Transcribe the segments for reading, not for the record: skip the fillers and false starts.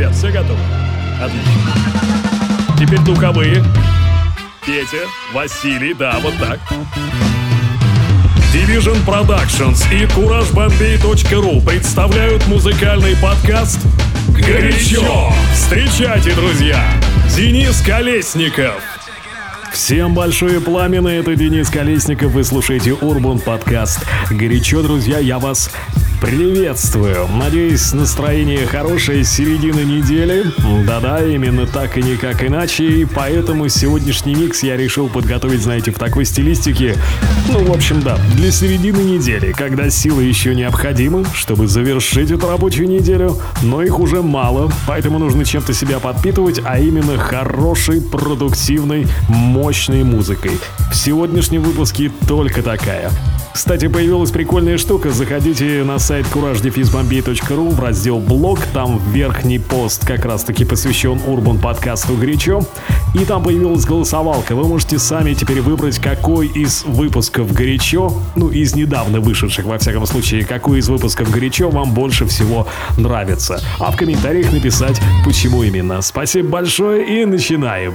ребят, все готовы? Отлично. Теперь духовые. Петя, Василий, да, вот так. Division Productions и CourageBombay.ru представляют музыкальный подкаст «Горячо». Встречайте, друзья, Денис Колесников. Всем большое пламя, это Денис Колесников, вы слушаете Урбан подкаст «Горячо», друзья, я вас приветствую. Надеюсь, настроение хорошее с середины недели. Да-да, именно так и никак иначе. И поэтому сегодняшний микс я решил подготовить, знаете, в такой стилистике. Ну, в общем, да, для середины недели, когда силы еще необходимы, чтобы завершить эту рабочую неделю, но их уже мало, поэтому нужно чем-то себя подпитывать, а именно хорошей, продуктивной, мощной музыкой. В сегодняшнем выпуске только такая. Кстати, появилась прикольная штука. Заходите на сайт CourageBombay.ru в раздел «Блог». Там верхний пост как раз-таки посвящен Урбан подкасту «Горячо». И там появилась голосовалка. Вы можете сами теперь выбрать, какой из выпусков «Горячо», ну, из недавно вышедших, во всяком случае, какой из выпусков «Горячо» вам больше всего нравится. А в комментариях написать, почему именно. Спасибо большое и начинаем.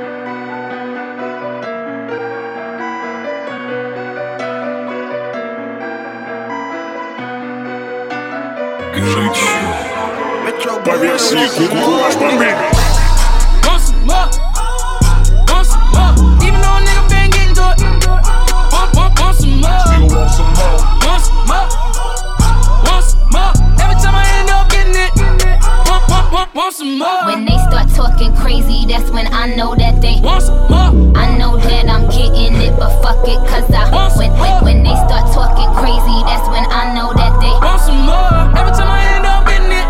По версии CourageBombay. When they start talking crazy, that's when I know that they I know that I'm getting it, but fuck it, cause when they start talking crazy, that's when I know that they every time I end up getting it,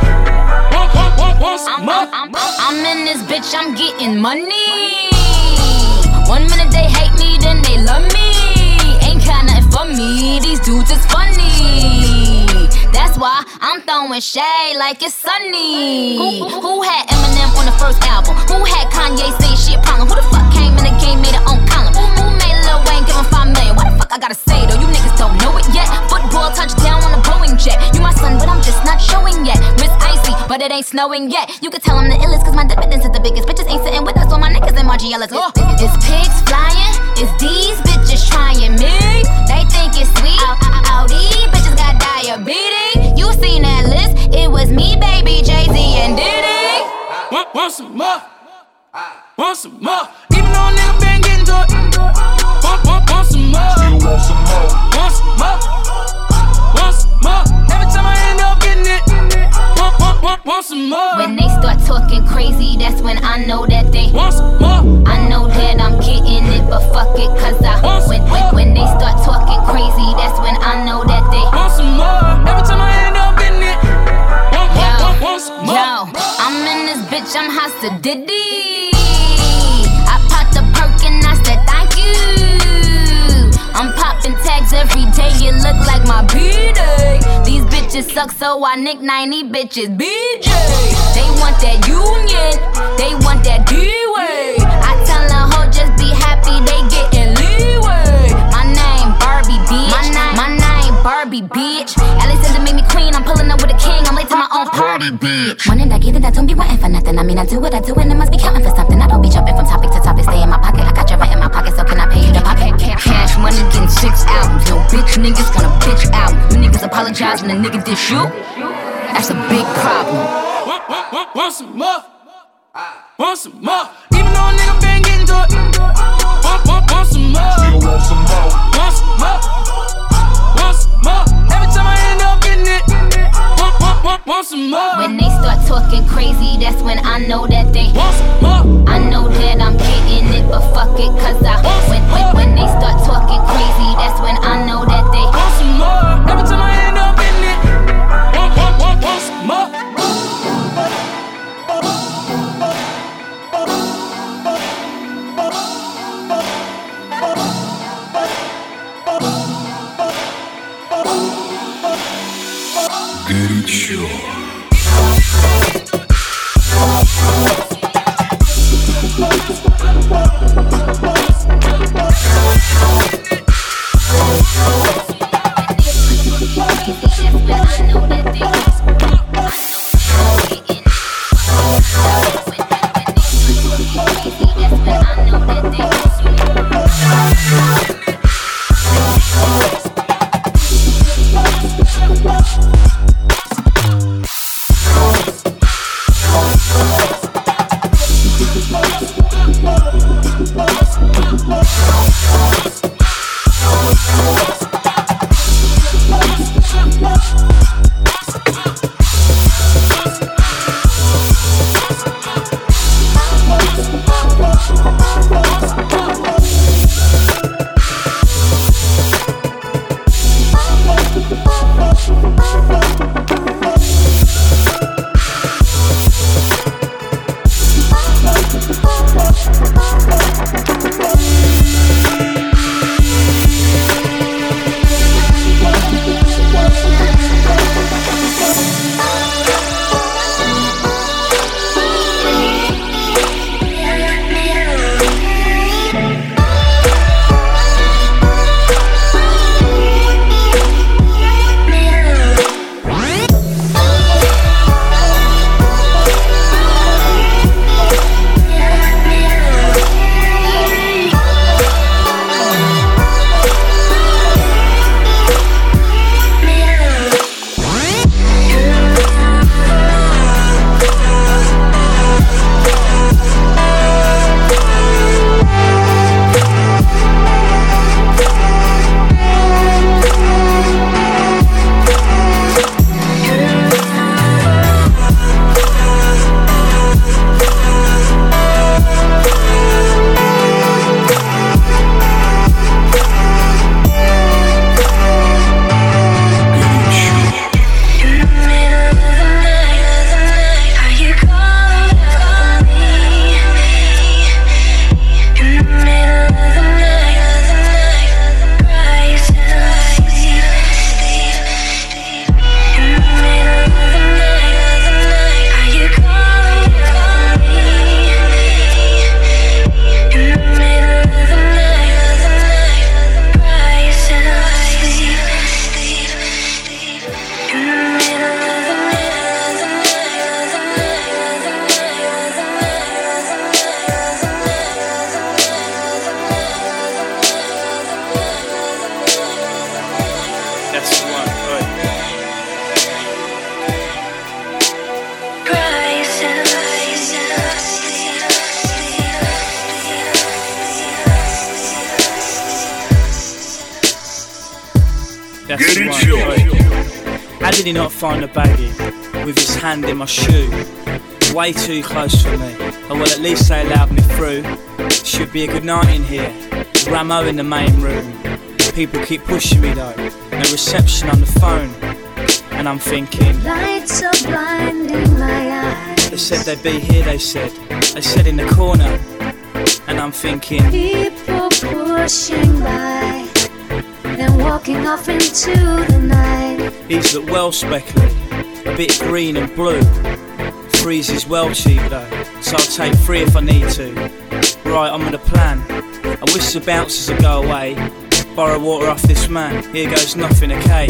I'm in this bitch, I'm getting money. 1 minute they hate me, then they love me. Ain't got nothing for me, these dudes is funny. That's why I'm throwing shade like it's sunny. Who had Eminem on the first album? Who had Kanye say shit problem? Who the fuck came in the game, made it on column? Who made Lil Wayne give him 5 million? What the fuck I gotta say though? You niggas don't know it yet. Football touchdown on a Boeing jet. You my son, but I'm just not showing yet. Wrist icy, but it ain't snowing yet. You can tell I'm the illest, cause my dividends is the biggest. Bitches ain't sitting with us, all my niggas and Margiela's. It's pigs flying, it's these bitches trying me. They think it's sweet. All these bitches got diabetes. You seen that list? It was me, baby, Jay-Z and Diddy. Want some more? Want some more? Even though a nigga been getting to it. Want some more? Still want some more? Want some more? Want some more? Every time I end up getting it. Want some more? When they start talking crazy, that's when I know that they want some more. I know that I'm getting it, but fuck it, cause when they start talking crazy, that's when I know that they want some more. Every time I end up getting it. Yo, I'm in this bitch, I'm Hasta Diddy. I popped a perk and I said thank you. I'm popping tags every day, it look like my B-Day. These bitches suck, so I nick 90 bitches BJ. They want that union, they want that D-Way. I tell a hoe just be happy, they getting leeway. My name Barbie, bitch. My name Barbie, bitch. Alexander made me queen, I'm pulling up with a king, I'm late to my own party, bitch. When I get it, I don't be wanting for nothing. I mean, I do what I do and I must be counting for something. I don't be jumping from topic to topic, stay in my pocket. I got your rent in my pocket, so can I pay you to pop it? Cash money getting 6 albums. No bitch niggas want a bitch album. You niggas apologize when a nigga diss you. That's a big problem. Want some more? Want some more? Even though a nigga been getting to it. Want some more? Still want some more? Want some more? Want some more? Every time I end up getting it. Want some more? When they start talking crazy, that's when I know that they want some more. I know that I'm getting it, but fuck it, cause when they start talking crazy, that's when I know that they want some more. Every time I end up getting it. Want some more? Горячо. did he not find the baggie with his hand in my shoe? Way too close for me. Oh well, at least they allowed me through. Should be a good night in here. Ramo in the main room. People keep pushing me though. No reception on the phone. And I'm thinking, lights are blinding my eyes. They said they'd be here, they said in the corner. And I'm thinking, people pushing by, then walking off into the night. These look well speckly, a bit green and blue. Threes is well cheap though, so I'll take 3 if I need to. Right, I'm on a plan. I wish the bouncers would go away. Borrow water off this man, here goes nothing, okay.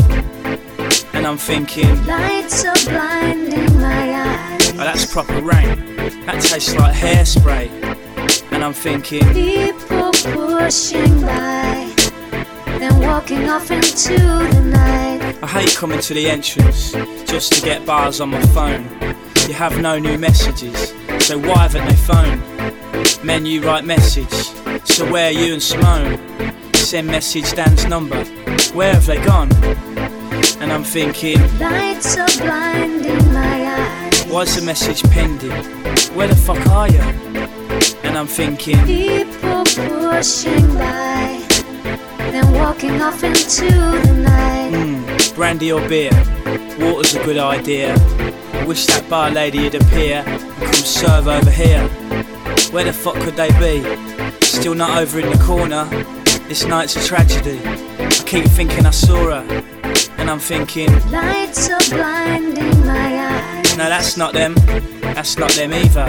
And I'm thinking, lights are blinding my eyes. Oh, that's proper rain. That tastes like hairspray. And I'm thinking, people pushing by, then walking off into the night. I hate coming to the entrance just to get bars on my phone. You have no new messages, so why haven't they phoned? Menu right message, so where are you and Simone? Send message Dan's number, where have they gone? And I'm thinking, lights are blinding my eyes. Why's the message pending? Where the fuck are you? And I'm thinking, people pushing by, then walking off into the night. Brandy or beer, water's a good idea. I wish that bar lady'd appear and come serve over here. Where the fuck could they be? Still not over in the corner. This night's a tragedy. I keep thinking I saw her. And I'm thinking, lights are blinding my eyes. No, that's not them. That's not them either.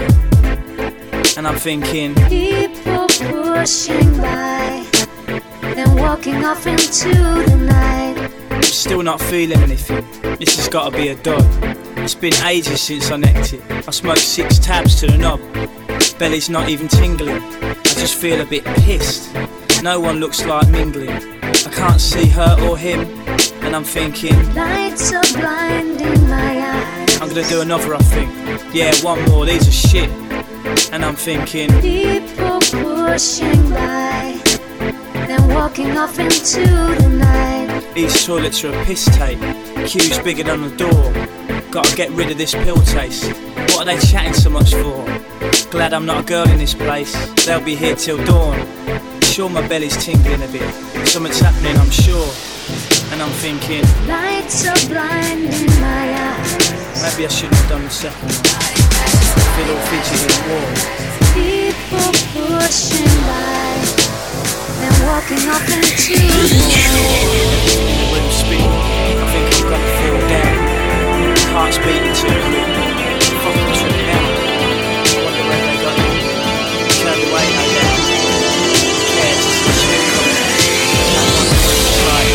And I'm thinking, people pushing by, then walking off into the night. I'm still not feeling anything. This has got to be a dud. It's been ages since I necked it. I smoked 6 tabs to the knob. Belly's not even tingling. I just feel a bit pissed. No one looks like mingling. I can't see her or him. And I'm thinking, lights are blinding my eyes. I'm gonna do another, I think. Yeah, one more, these are shit. And I'm thinking, people pushing by, then walking off into the night. These toilets are a piss tape. Queue's bigger than the door. Gotta get rid of this pill taste. What are they chatting so much for? Glad I'm not a girl in this place. They'll be here till dawn. Sure my belly's tingling a bit. Something's happening, I'm sure. And I'm thinking, lights are blinding my eyes. Maybe I shouldn't have done the second one. I feel all fidgety and warm. People pushing by, then walking off into the night. When I'm speaking, I think I'm gonna fall down. Heart's beating too quick. Fucking tripping out. Wonder where they got me. Turned away, no doubt. Yeah, it's just shit coming. I wonder what it's like.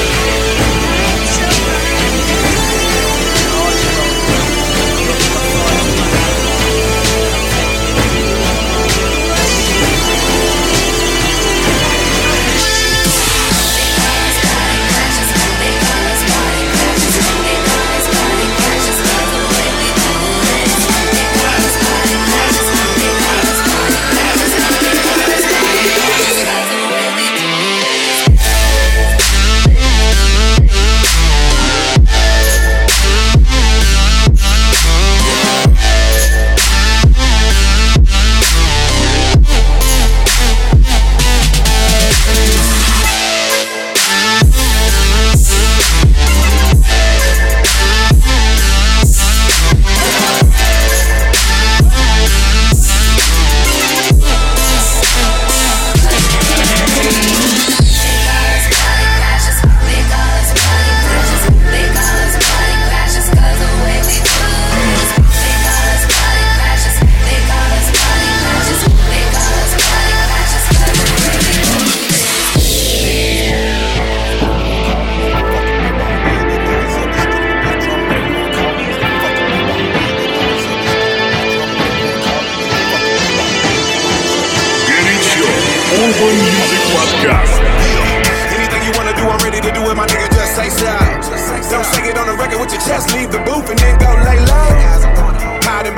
Urban Music Podcast. Anything you wanna do, I'm ready to do it, my nigga, just say so. Don't say it on the record with your chest, leave the booth and then go lay low. Hiding behind your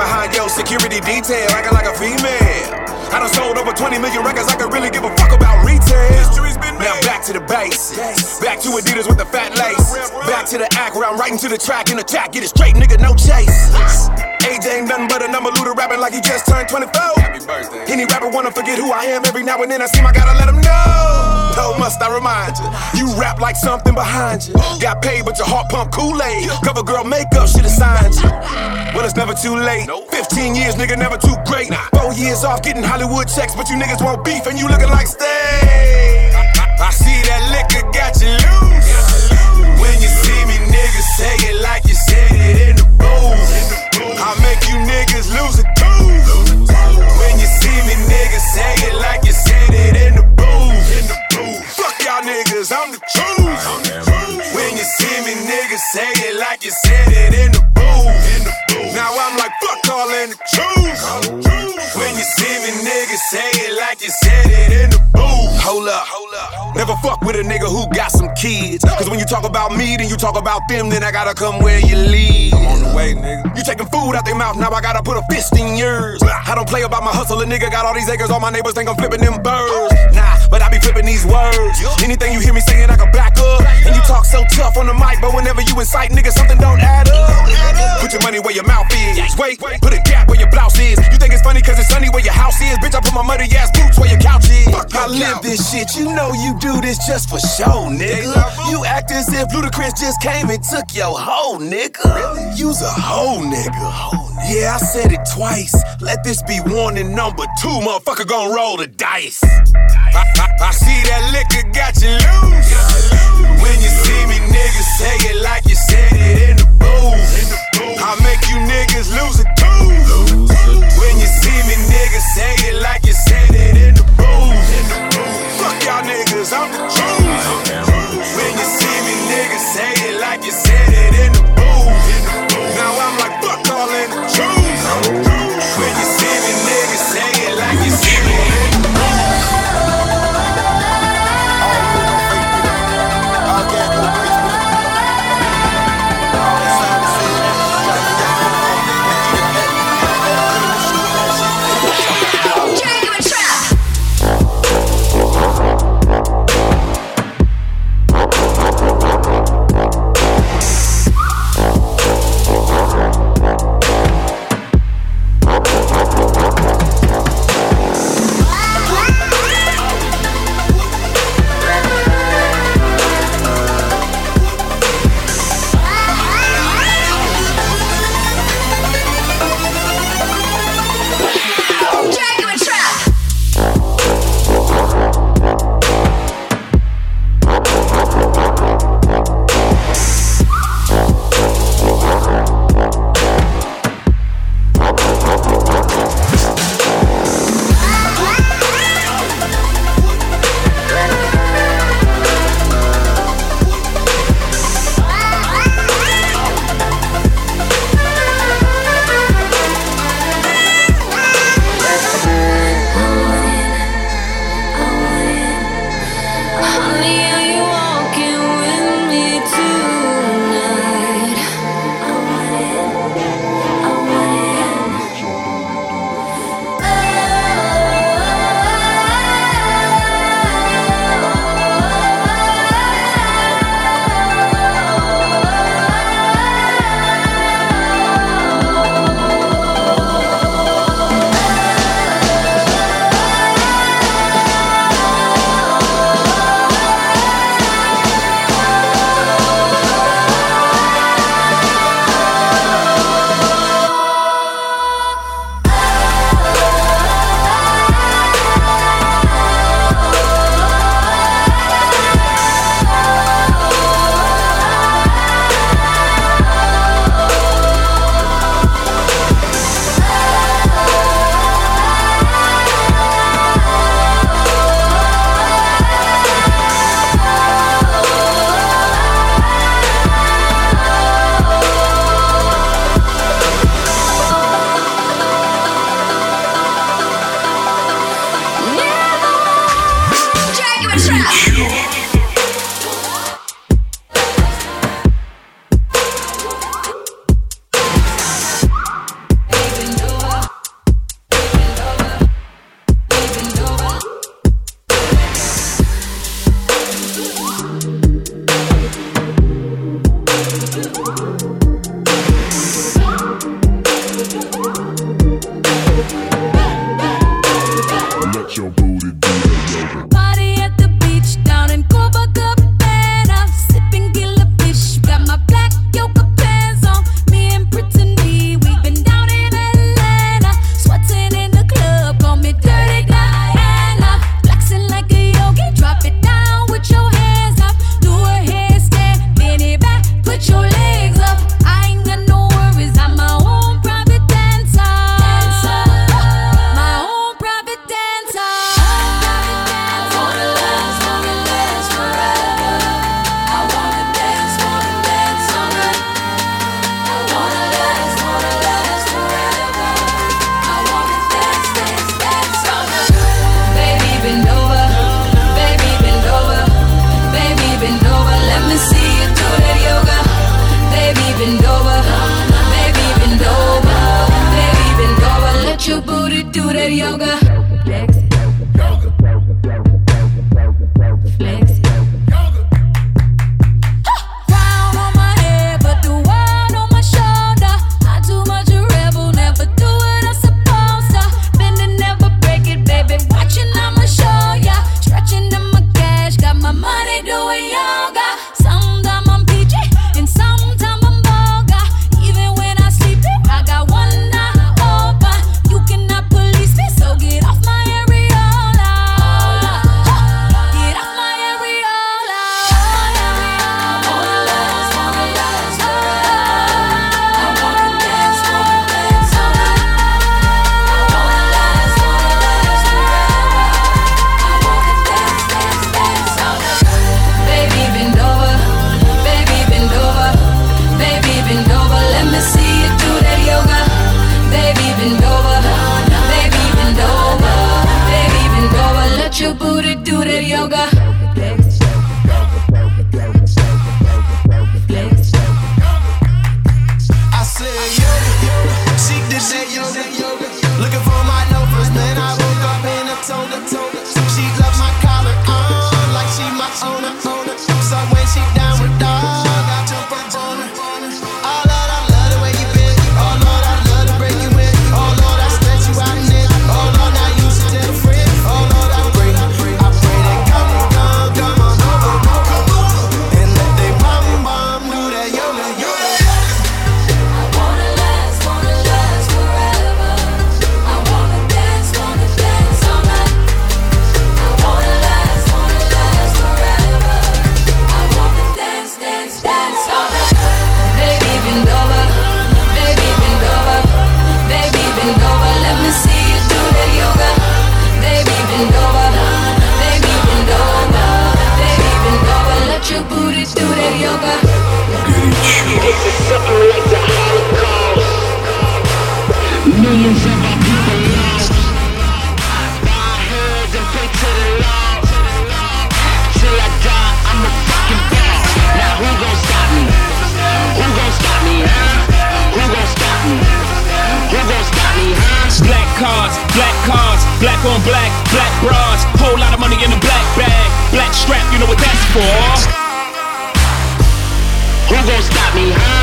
security detail, acting like a female. I done sold over 20 million records, I could really give a fuck about retail. History's been made. Now back to the basics. Back to Adidas with the fat lace. Back to the act where I'm writing to the track in the chat. Get it straight, nigga, no chase. Age ain't nothing but a number, Luda rapping like he just turned 24. Happy birthday. Any rapper wanna forget who I am, every now and then I seem I gotta let him know. Oh, must I remind you, you rap like something behind you. Got paid but your heart pump Kool-Aid. Cover girl makeup should've signed you. Well, it's never too late. 15 years, nigga, never too great. 4 years off getting Hollywood checks, but you niggas want beef and you looking like steak. I see that liquor got you loose. When you see me, niggas say it like you said it in the booth. I make you niggas lose a tooth. When you see me, niggas say it like you said it in the booth. Fuck y'all niggas, I'm the truth. When you see me, niggas say it like you said it in the booth. Now I'm like, fuck all in the truth. When you see me, niggas say it like you said it in the booth. Hold up. Never fuck with a nigga who got some kids. Cause when you talk about me, then you talk about them, then I gotta come where you live. I'm on the way, nigga. You taking food out their mouth, now I gotta put a fist in yours. I don't play about my hustle, a nigga got all these acres, all my neighbors think I'm flipping them birds. Nah, but I be flipping these words. Anything you hear me saying, I can back up. And you talk so tough on the mic, but whenever you incite, nigga, something don't add up. Put your money where your mouth is. Wait, put a gap where your blouse is. You think it's funny cause it's sunny where your house is. Bitch, I put my muddy ass boots where your couch is. I live this shit, you know you do this just for show, nigga. You act as if Ludacris just came and took your hoe, nigga. You's a hoe, nigga. Yeah, I said it twice. Let this be warning number 2, motherfucker gon' roll the dice. I see that liquor got you loose. When you see me, niggas say it like you said it in the booth. I make you niggas lose a tooth. When you see me, niggas say it like you said it in the booth. Fuck y'all niggas, I'm the truth. When you see me, niggas say it like you said it in the booth. Now I'm like, fuck all in the truth. When you see me, niggas say it like you said it in the booth. that yoga. Flex. Flex. Crown on my head, but the world on my shoulder. Not too much a rebel, never do what I'm supposed to. Bend and never break it, baby. Watching, I'ma show ya. Stretching in my cash, got my money doing yoga. Sometimes I'm PG, and sometimes I'm vulgar. Even when I sleep, I got one eye open. You cannot police me, so get off my areola. Get off my areola. I wanna last, wanna last forever. I wanna dance, all night. I wanna last, forever. I wanna dance all night. Baby, bend over, baby, bend over, baby, bend over. Let me see you do that yoga. Baby, bend over, baby, bend over, baby, bend over. Let your booty do that yoga. I said yoga, she did that yoga. Looking for my loafers, man. I woke up in a toga. She loves my collar on, like she my owner. So when she down with dog, I jump up on her. Oh Lord, I love the way you bend. Oh Lord, I love to break you in. Oh Lord, I stretch you out, nigga. Oh Lord, now you should tell a friend. Oh Lord, I pray that come on over, and let they bum do that yoga. I wanna last forever. I wanna dance all night. I wanna last forever. I wanna dance all night. Baby, bend over, baby, bend over, baby, bend over. Let me see you do that yoga. Baby, bend over, baby, bend over, baby, bend over. Let your booty do that yoga. This is something like the Holocaust. Millions of our people lost. Bow our heads and pray to the Lord. Till I die, I'm a fucking boss. Now who gon' stop me? Who gon' stop me, huh? Who gon' stop me? Who gon' stop me, huh? Black cars, black on black, black bras. Whole lot of money in a black bag. Black strap, you know what that's for. Who gon' stop me, huh?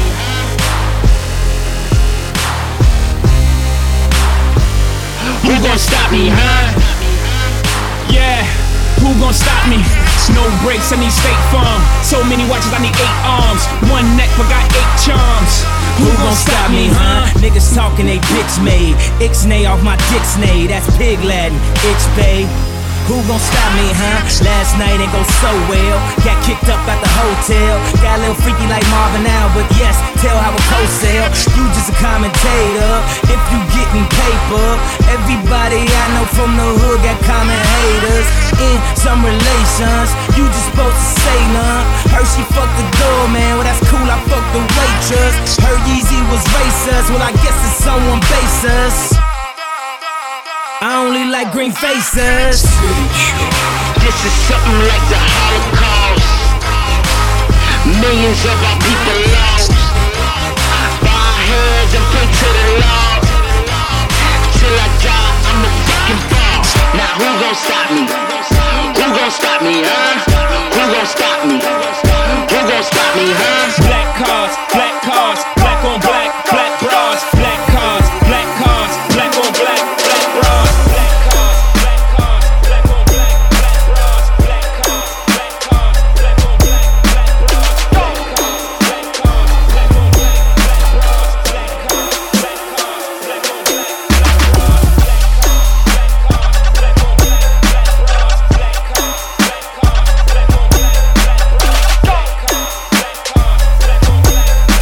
Who gon' stop me, huh? Yeah, who gon' stop me? No brakes, I need State Farm. So many watches, I need 8 arms. One neck, but got 8 charms. Who gon' stop me, huh? Niggas talking they bitch made. Ixnay off my Dixnay, that's pig Latin. Ix-bay. Who gon' stop me, huh? Last night ain't go so well. Got kicked up at the hotel. Got a little freaky like Marvin now, but yes, tell how a co-sale. You just a commentator. If you getting paper, everybody I know from the hood got common haters. In some relations, you just supposed to say none. Heard she fucked the doorman, well that's cool, I fucked the waitress. Heard Yeezy was racist, well I guess it's someone basis. I only like green faces. This is something like the Holocaust. Millions of our people lost. Bow our heads and pray to the Lord. Till I die, I'm a fucking boss. Now who gon' stop me? Who gon' stop me, huh? Who gon' stop me? Who gon' stop me, huh? Black cars, black on black, black bras. Black cars, black on black, black bras. Black cars, black on black, black bras. Black cars, black on black, black bras. Black cars, black on black, black bras. Black cars, black on black, black bras.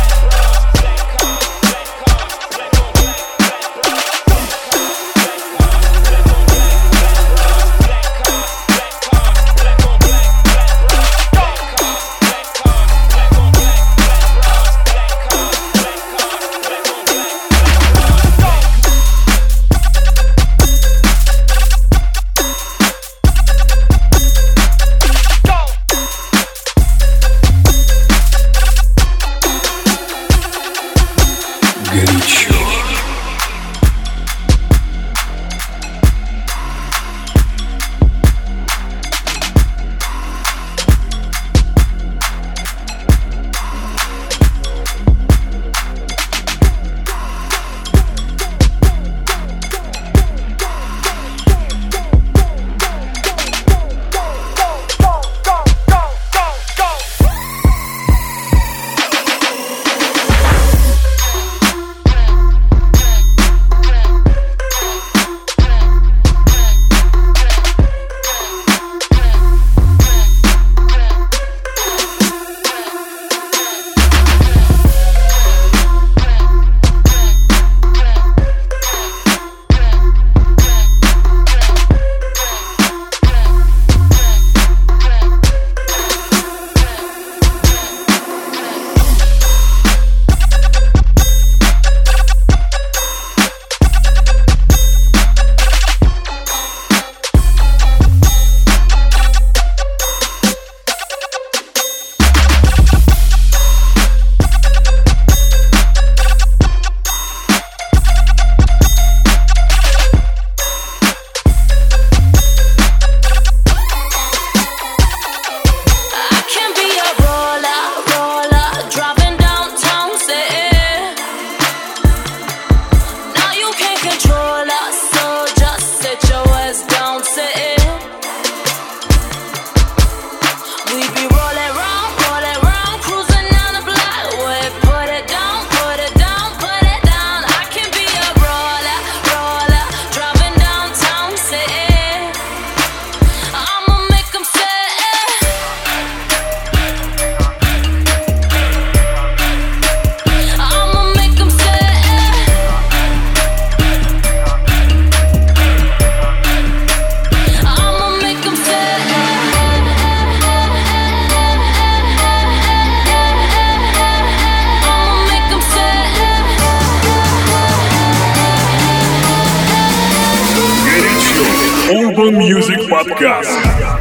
Urban Music Podcast.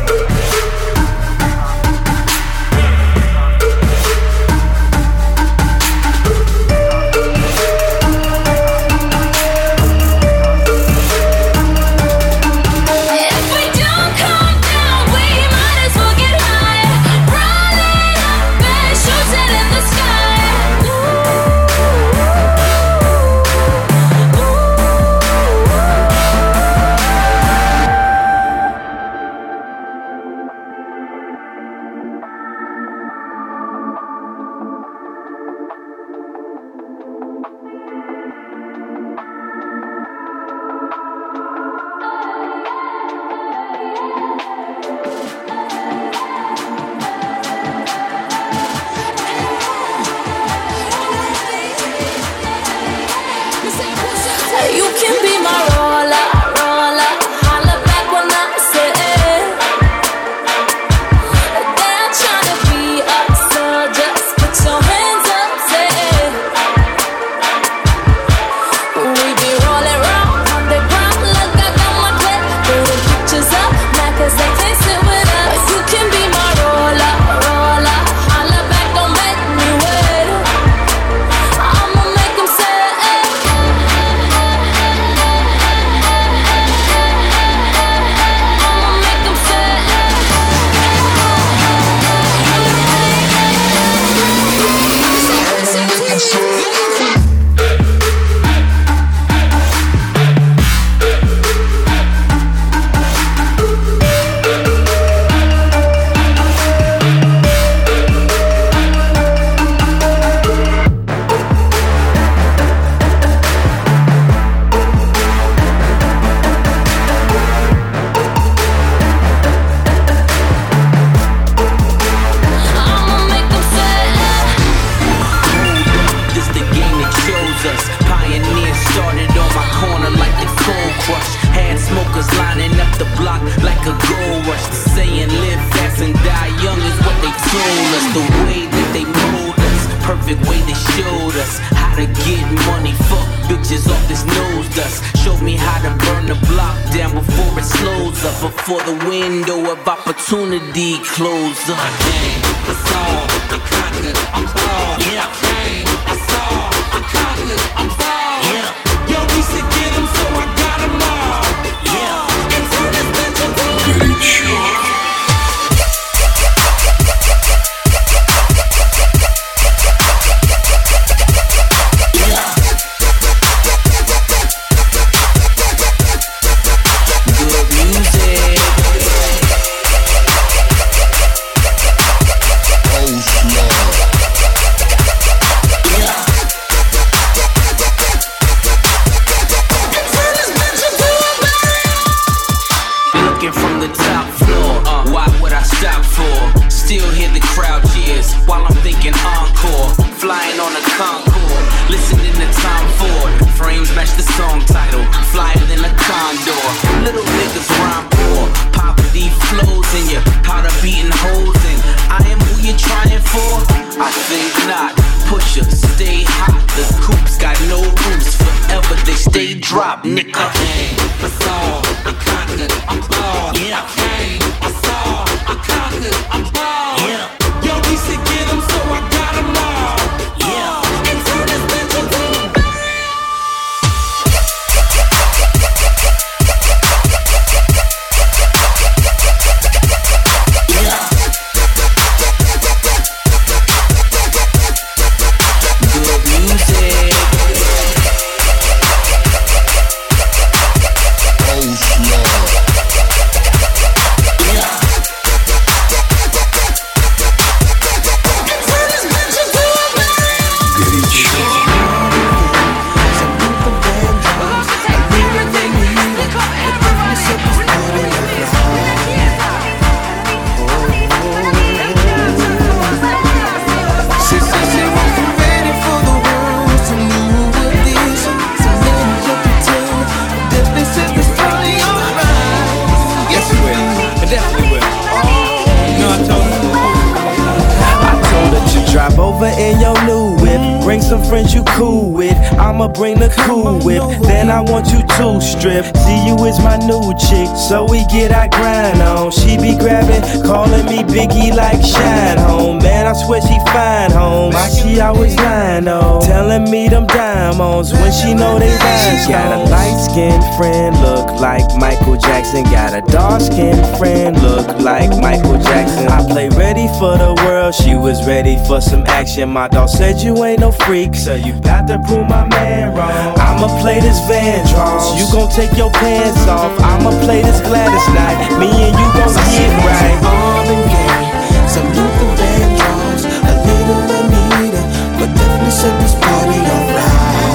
Before the window of opportunity closes. I came, I saw, I conquered, I'm all. Yeah, I came, I saw, I conquered, I'm all. Yeah, yo, we should get them, so I got them all. Yeah, and turn this bitch into a горячо. Drop, nigga. I saw, I conquered, I'm ball. Yeah, I saw, I conquered, I'm ball. Yeah, yo, we should get them, so I got them all. Yeah, and turn this bitch into a good music. Over in your new whip, bring some friends you cool with. I'm I'ma bring the cool whip. Then I want you to strip. See you is my new chick, so we get our grind on. She be grabbing, calling me Biggie like Shine Home. Man, I swear she fine home. Why she always lying on? Telling me them diamonds when she know they rhyme. She got a light-skinned friend, look like Michael Jackson. Got a dark-skinned friend, look like Michael Jackson. I play ready for the world, she was ready for some action. My dog said you ain't no freak, so you got to prove my man wrong. I'ma play this Vandross, you gon' take your pants off. I'ma play this Gladys Knight, me and you gon' get right. Marvin Gaye, some Luther Vandross, a little Anita, but definitely set this party on fire.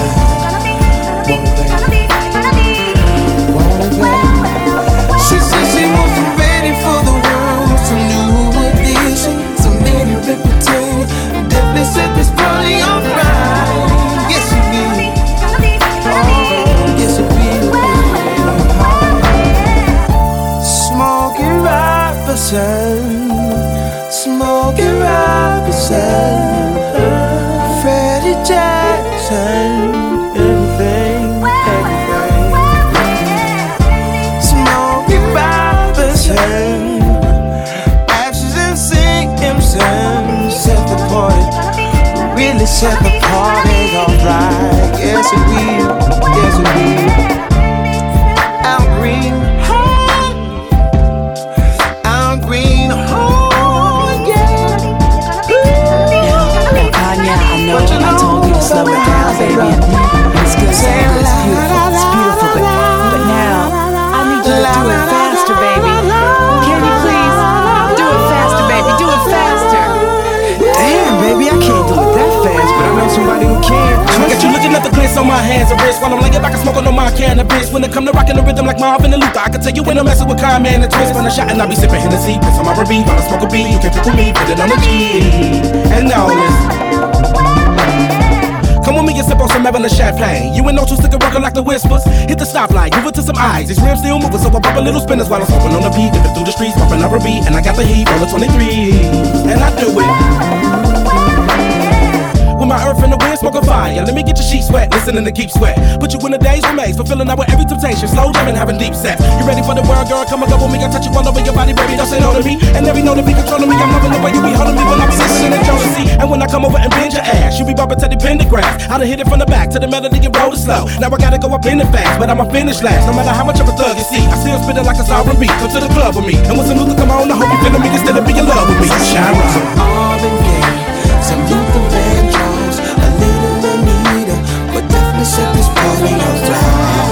She said she wasn't ready for the world, some new edition, some lady reputation, definitely set this party on fire. Yes, she will. Oh, yes, she will. Smokey Robinson, Smokey Robinson, Freddie Jackson, everything. Smokey Robinson, Ashes and Simpson, set the party, really set the party alright. Yes, it will, yes, it will. Al Green, Al Green, oh yeah. Now, Kanye, I know I told you to slow it down, baby. It's good, so good, it's beautiful, but now I need you to do it faster, baby. Can you please do it faster, baby? Do it faster. Damn, baby, I can't do it that fast, but I know somebody who can. I got you looking at the glitz on my hands and wrists while I'm laying back and smoking on my cannabis. When it come to rocking the rhythm like Marvin and Luther, I can tell you when I'm messing with Kanye and the Twist. When I shot and I be sipping Hennessy, piss on my R&B while I smoke a beat. You can pick with me, put it on the G. And now come with me and sip on some Evelyn Champagne. You ain't no two sticker rockin' like the Whispers. Hit the stoplight, move it to some eyes. These rims still moving, so I pop a little spinners while I'm smoking on the beat. Dipping through the streets, popping R&B, and I got the heat on the 23. And I do it with my earth and the wind, smoking fire. Let me get your sheets wet, listening to Keep Sweat. Put you in the days remains, fulfilling out with every temptation. Slow jamming, having deep sex. You ready for the world, girl? Come and go with me. I touch you all over your body, baby. Don't say no to me. And every note to be controlling me. I'm loving the way you be holding me when I be listening to jealousy. And when I come over and bend your ass, you be bumping to the pentagram. I done hit it from the back to the melody and roll it slow. Now I gotta go up in it fast, but I'ma finish last. No matter how much of a thug you see, I still spit it like a sovereign beat. Come to the club with me, and when some Luther come on, I hope you feeling me instead of being in love with me. Shine on. Some Marvin Gaye, some Luther Vandross, a little Anita, but definitely set this party on fire.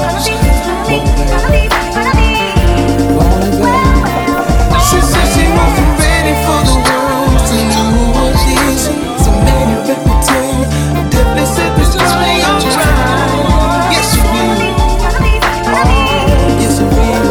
She said she wasn't ready for the world, some new edition, some lady reputation, definitely set this party on fire. Yes, she will. Oh, yes, she will.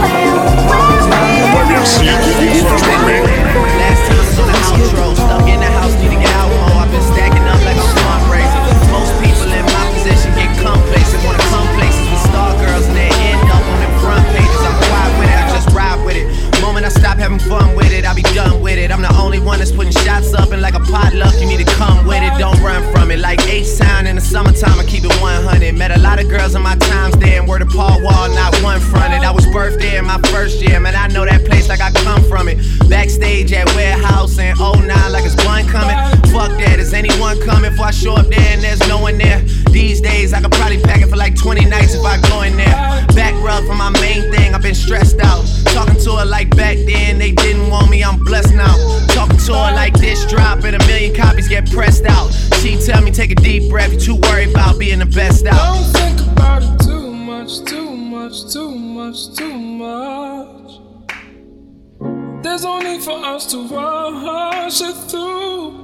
Last time I was on the outro, stuck in the house, need to get out more. I've been stacking up like I'm fundraising. Most people in my position get complacent, wanna come places with star girls and they end up on them front pages. I'm quiet with it, I just ride with it. Moment I stop having fun with it, I be done with it. I'm the only one that's putting shots up, and like a potluck, you need to come with it, don't run from it. Like H-Town in the summertime, I keep it 100. Met a lot of girls in my times there, and word to Paul Wall, not one fronted. I was birthed there in my first year, man, I know that place like I come from it. Backstage at Warehouse in 09 like it's one coming. Fuck that, is anyone coming before I show up there and there's no one there? These days I could probably pack it for like 20 nights if I go in there. Back rub for my main thing, I've been stressed out. Talking to her like back then, they didn't want me, I'm blessed now. Talking to her like this drop and 1 million copies get pressed out. She tell me take a deep breath, you too worried about being the best out. Don't think about it too much, too much, too much, too much. There's no need for us to rush it through.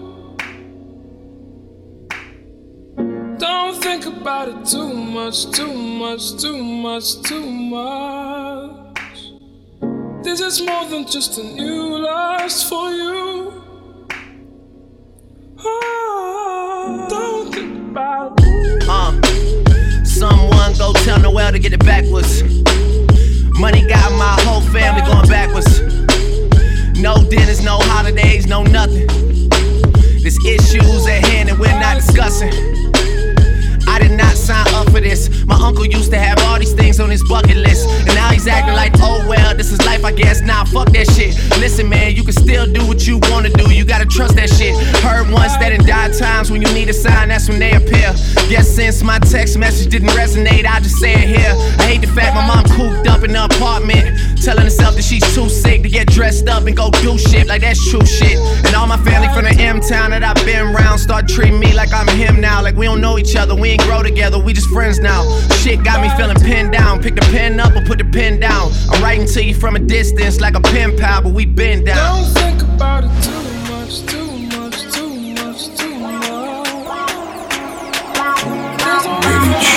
Don't think about it too much, too much, too much, too much. This is more than just a new lust for you. Oh, don't think about it. Someone go tell Noel to get it backwards. Money got my whole family going backwards. No dinners, no holidays, no nothing. There's issues at hand that we're not discussing. I I did not sign up for this. My uncle used to have all these things on his bucket list, and now he's acting like, oh well, this is life I guess. Nah, fuck that shit. Listen man, you can still do what you wanna do, you gotta trust that shit. Heard once that in dire times when you need a sign, that's when they appear. Guess since my text message didn't resonate, I just say it here. I hate the fact my mom cooped up in the apartment, telling herself that she's too sick to get dressed up and go do shit like that's true shit. And all my family from the M-town that I've been around start treating me like I'm him now. Like we don't know each other, we ain't grow together, we just friends now. Shit got me feeling pinned down. Pick the pen up or put the pen down. I'm writing to you from a distance like a pen pal, but we been down. Don't think about it too much, too much, too much, too much. There's only much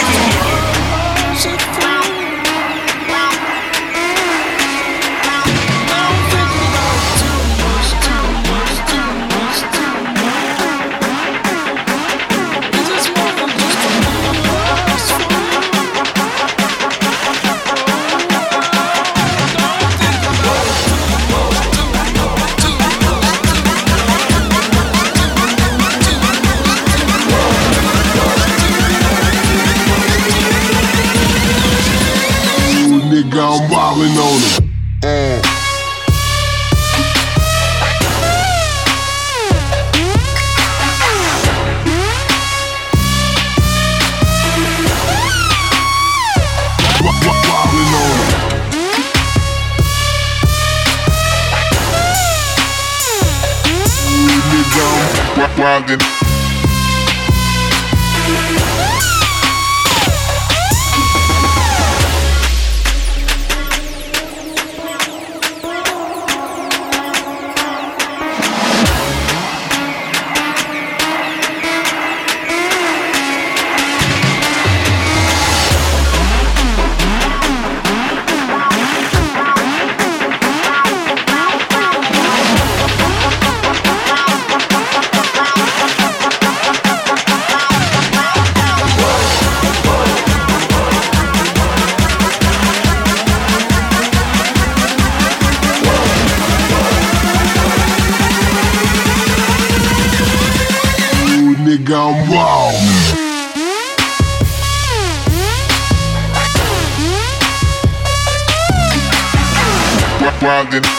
nigga, I'm wildin' on him. Wildin' on him. Nigga, I'm wildin'. Nigga, I'm wild. Wildin'.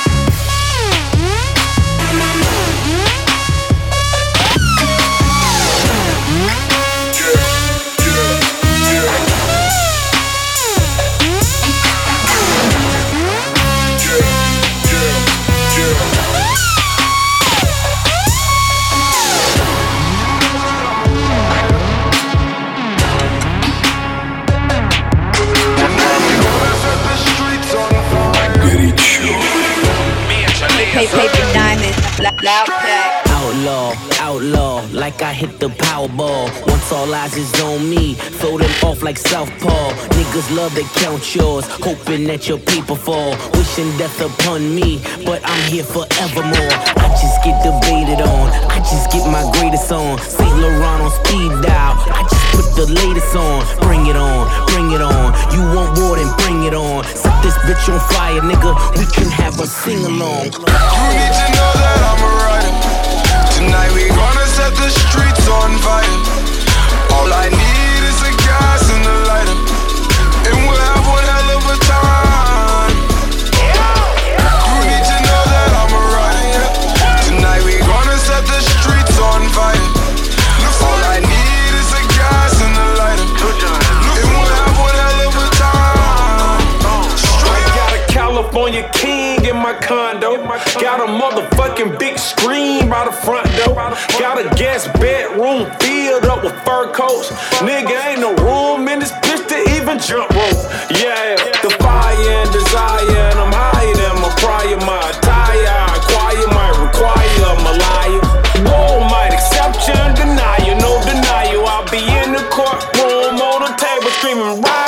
Paper diamonds, loud pack. Outlaw, outlaw, like I hit the Powerball. Once all eyes is on me, throw them off like Southpaw. Niggas love to count yours, hoping that your paper fall. Wishing death upon me, but I'm here forevermore. I just get debated on, I just get my greatest on. St. Laurent on speed dial, I just put the latest on. Bring it on, bring it on. You want war, then bring it on. Set this bitch on fire, nigga, we can have a sing-along. You need to know that I'm a rider. Tonight we gonna set the streets on fire. All I need is the gas and the lighter, and we'll have one hell of a time. You need to know that I'm a rider. Tonight we gonna set the streets on fire. All I need is the gas and the lighter, and we'll have one hell of a time. I got a California king in my condo. Got a motherfucking big screen by the front door. Got a guest bedroom filled up with fur coats. Nigga, ain't no room in this bitch to even jump rope. Yeah, the fire and desire, and I'm higher than my prior. My attire, acquire might require a liar. War might accept you and deny you, no denial. I'll be in the courtroom on the table screaming, right.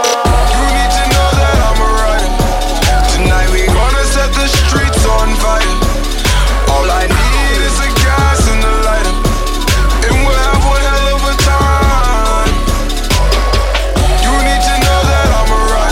On fire. All I need is the gas and the lighter, and we'll have one hell of a time. You need to know that I'm a rider.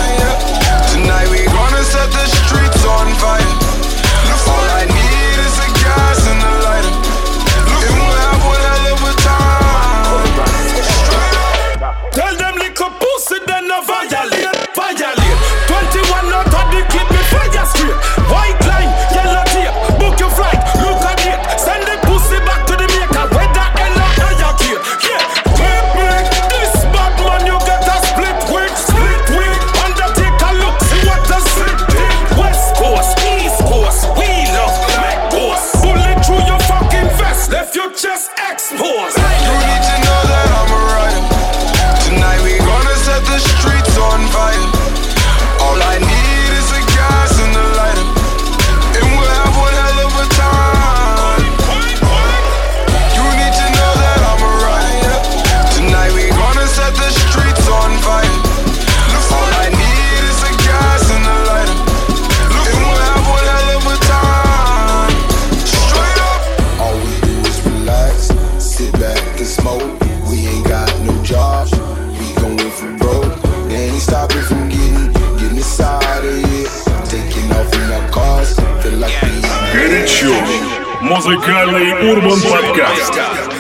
Музыкальный Урбан Подкаст.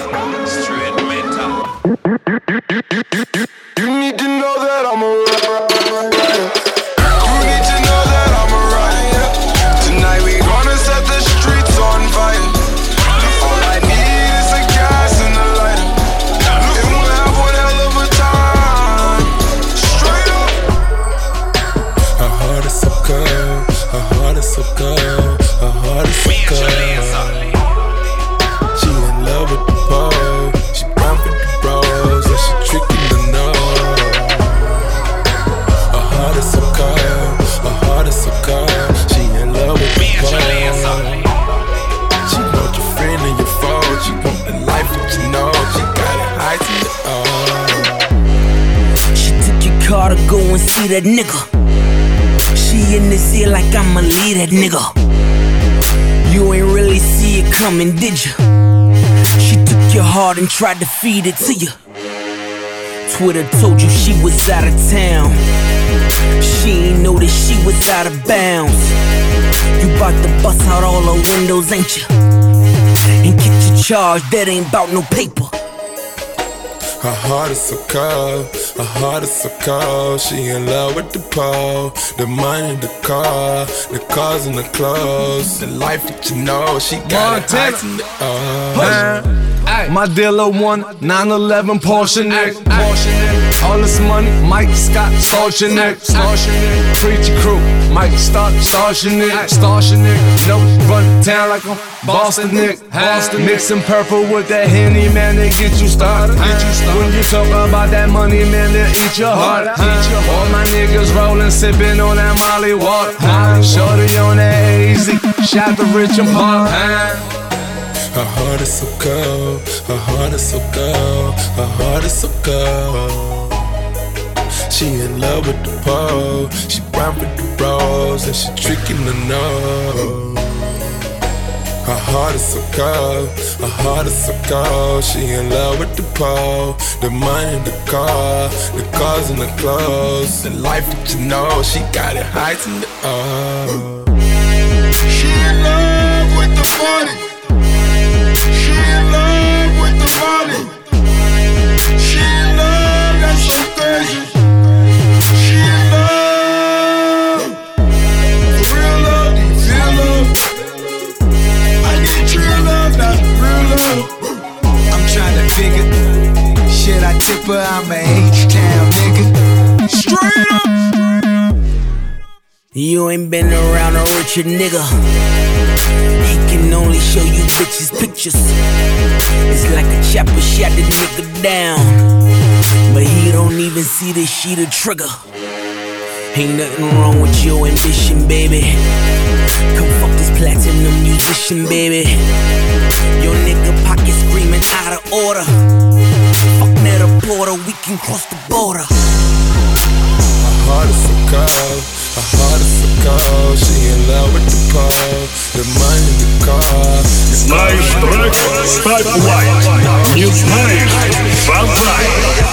You need to know that I'm a rider. You need to know that I'm a rider. Tonight we gonna set the streets on fire. All I need is a gas and a lighter. And we'll have one hell of a time. Straight up. Her heart is so cold. Her heart is so cold. Her heart is so cold. She in love with the pole. She bound for the bros. And she tricking the nose. Her heart is so cold. Her heart is so cold. She in love with the pole. She want your friend and your foe. She want the life that you know. She got it high to the She took your car to go and see that nigga. She in this ear like I'ma leave that nigga. You ain't really see it coming, did you? She took your heart and tried to feed it to you. Twitter told you she was out of town. She ain't know that she was out of bounds. You bout to bust out all her windows, ain't you? And get your charge, that ain't bout no paper. Her heart is so cold, her heart is so cold. She in love with the pole, the money, the car, the cars and the clothes, the life that you know. She got it My dealer won 911 Porsche neck. All this money, Mike Scott, Starchin' neck. Preacher crew, Mike Stark, Starchin' neck. No, run town like a Boston Nick. Mixing purple with that Henny, man, they get you started. When you talk about that money, man, they'll eat your heart. All my niggas rolling, sipping on that Molly water. Shorty on that hazy, shout to Rich and Park. Her heart is so cold, her heart is so cold, her heart is so cold. She in love with the pole, she brown with the bros, and she tricking the nose. Her heart is so cold, her heart is so cold. She in love with the pole, the money, the car, the cars and the clothes, the life that you know. She got it high to the She in love with the money. She in love with the money. She in love, that's so crazy. She in love. For real love, feel love. I need true love, not real love. I'm trying to figure, should I tip her? I'm a H-Town nigga. Straight up. You ain't been around a richer nigga. He can only show you bitches pictures. It's like a chopper shot the nigga down, but he don't even see the sheet of trigger. Ain't nothing wrong with your ambition, baby. Come fuck this platinum musician, baby. Your nigga pocket screaming out of order. Fuck Netta Porter, we can cross the border. Her heart is so cold, her heart is so cold. She in love with the pole, the money, the car. Знаешь трек? Ставь лайк. Не знаешь? Шазай.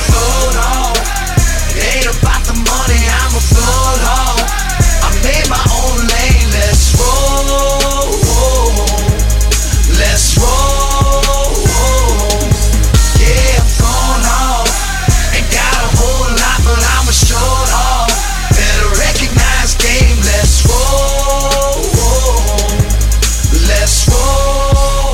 Ain't about the money, I'm a float home. I made my own lane, let's roll. Let's roll. Yeah, I'm going off. Ain't got a whole lot, but I'm a short off. Better recognize game, let's roll. Let's roll.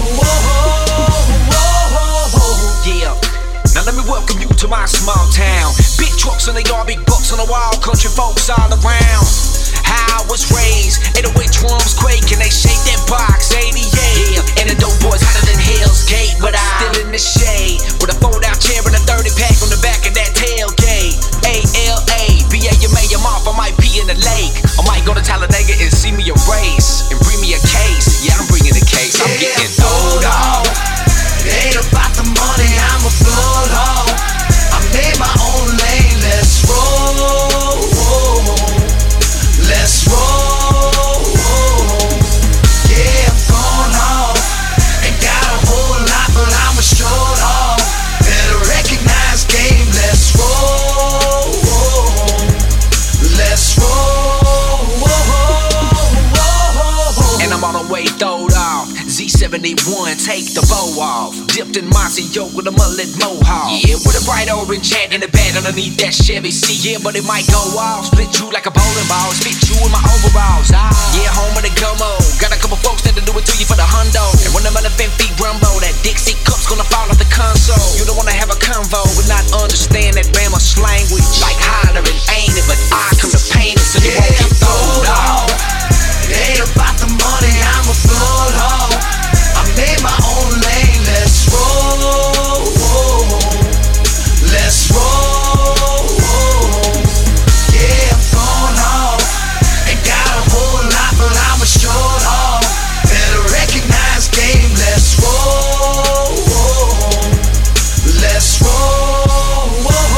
Yeah. Now let me welcome you to my small town. Big trucks in the yard, big bucks on the wall, country folks all around. How I was raised, 808 drums quake and they shake that box, 88. Yeah, and the dope boys hotter than Hell's Gate, but I'm still in the shade with a fold-out chair and a 30-pack on the back of that tailgate. ALA, BAMA, I'm off, I might be in the lake. I might go to Talladega and see me a race and bring me a case. Yeah, I'm bringing a case, I'm getting throwed off. It ain't about the money, I'm a float home. I made my own lane, let's roll. Let's roll. Yeah, I'm going off. Ain't got a whole lot, but I'm a short off. off. Dipped in Mossy Yoke with a mullet mohawk. Yeah, with a bright orange hat and a bed underneath that Chevy seat. Yeah, but it might go off. Split you like a bowling ball. Spit you in my overalls. Yeah, home of the gummo. Got a couple folks that'll do it to you for the hundo. And when them elephant feet rumble, that Dixie cup's gonna fall off the console. You don't wanna have a convo but not understand that Bama language. Like hollering, ain't it? But I come to paint it so you won't get thrown off. It ain't about the money, I'm a blood hog. I made my own lane, let's roll. Let's roll. Yeah, I'm going off. Ain't got a whole lot, but I'm a short haul. Better recognize game, let's roll. Let's roll.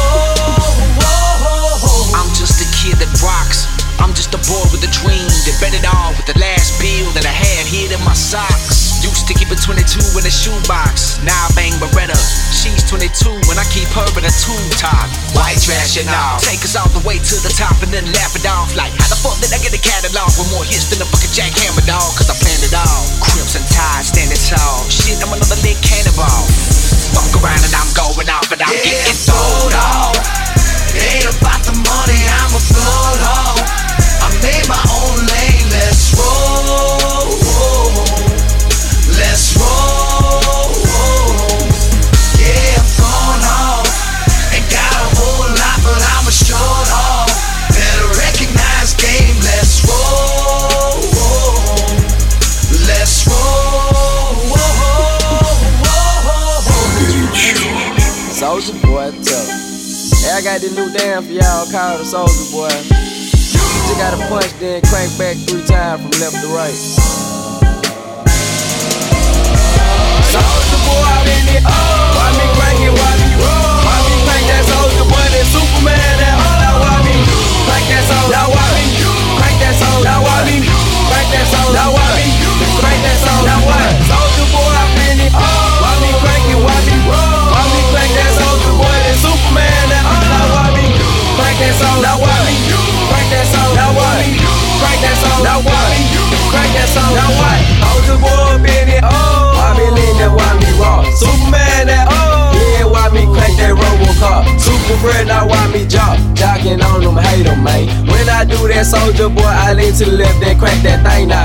I'm just a kid that rocks. I'm just a boy with a dream that bet it all with the last bill that I had hid in my socks. Used to keep a 22 in a shoebox. Now I bang Beretta. She's 22 and I keep her in a tube top. White trash and all. Take us all the way to the top and then laugh it off. Like how the fuck did I get a catalog with more hits than a fucking jackhammer dog? Cause I planned it all. Crimson Tide standing tall. Shit, I'm another lit cannonball. Fuck around and I'm going off and I'm getting thrown off. It ain't about the money, I'm a blood hog. I made my own lane, let's roll. Let's roll. Yeah, I'm going off. Ain't got a whole lot, but I'm a short haul. Better recognize game, let's roll. Let's roll. Soulja Boy, tough. Hey, I got this new dance for y'all called the Soulja Boy. Just gotta punch, then crank back 3 times from left to right. Soulja Boy out in it. Why me crank it? Why me roll? Why me crank that Soulja Boy? That Superman, that now why me crank that Soulja? Now why me crank that Soulja? Now why me crank that Soulja? Now why me crank that Soulja? Now what? Soulja Boy out in it. Why me crank it? Why me roll? Why me crank that Soulja Boy? That Superman, that now why me crank that Soulja? Now why me crank that Soulja? Now why me crank that Soulja? Now what? Crank that Soulja? Now what? Soulja Boy up in it. Why me lean that? Why me rock? Superman that yeah, why me crank that Robocop? Super friend, now why me jock? Jocking on them, hate them, man. When I do that Soulja Boy, I lean to the left, then crank that thing now.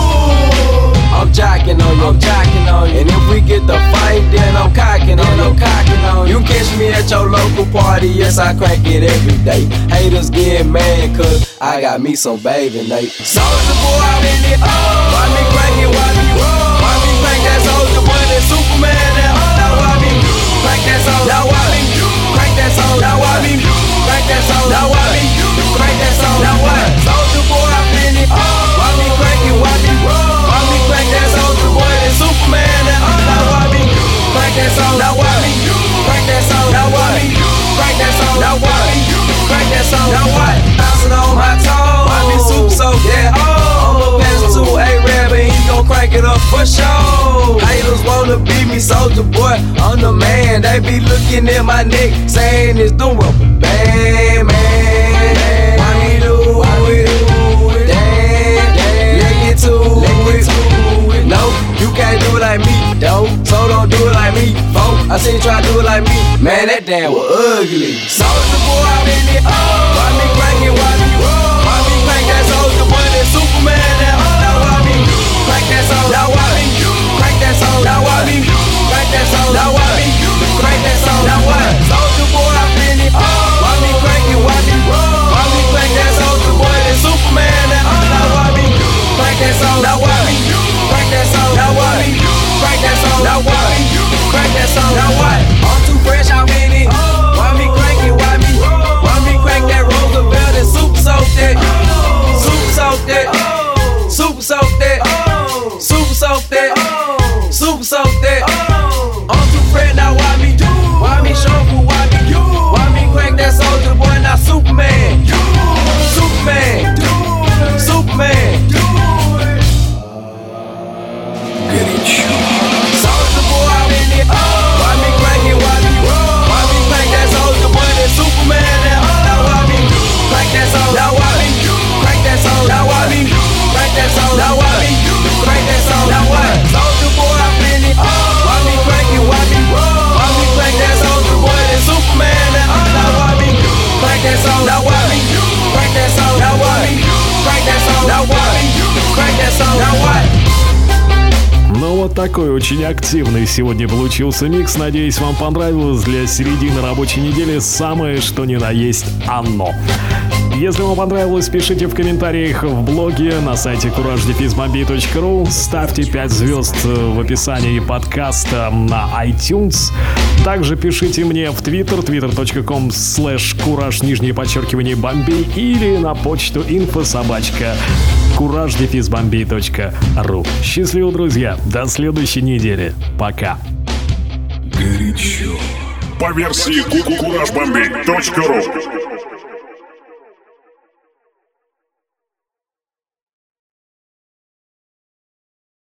I'm jocking on you, I'm jocking on you. And if we get the fight, then I'm cocking on you, I'm cocking on you. You catch me at your local party, yes, I crank it every day. Haters get mad, cause I got me some baby Nate. Soulja Boy out in it, why me crank it, why me roll? Why me crank that Soulja Boy, that Superman, that now why me crank that Soulja? Now why me crank that Soulja? Now why me crank that Soulja? Now why me crank that Soulja? Now what? Soulja Boy out in it, why me crank it, why me roll? Why me crank that Soulja Boy, that Superman, that now why me crank that Soulja? Now why me crank that Soulja? Now why me crank that Soulja? Now why me crank that Soulja? Now what? Bouncing on my toes, why me super so yeah, I'ma pass to A-Rab and he gon' crank it up for sure. Haters wanna beat me, Soulja Boy, I'm the man. They be looking at my neck, saying it's the rubber band, man. Why me do it? Damn, let get to it. No, you can't do it like me, though. So don't do it like me, folks. I seen you try to do it like me, man, that damn was ugly. Soulja Boy out in it, why me crank it, why me roll? Why me crank that Soulja Boy, that Superman, that now why me crank that Soulja? Now why me crank that Soulja? Now why me crank that Soulja? Now why me crank that Soulja? Now what? Soulja Boy out in it, why me crank it, why me roll? Why me crank that Soulja Boy, that Superman, that now why me crank that Soulja? Now why me crank that Soulja? Now why me crank that Soulja? Now why me crank that Soulja? Now what? I'm too fresh out in it, why me crank it, why me такой очень активный сегодня получился микс. Надеюсь, вам понравилось. Для середины рабочей недели самое что ни на есть оно. Если вам понравилось, пишите в комментариях в блоге на сайте courage-bombay.ru. Ставьте 5 звезд в описании подкаста на iTunes. Также пишите мне в Twitter, twitter.com/courage_Bombay или на почту info@courage-bombay.ru. Счастливо, друзья. До следующей недели. Пока. Горячо. По версии courage-bombay.ru.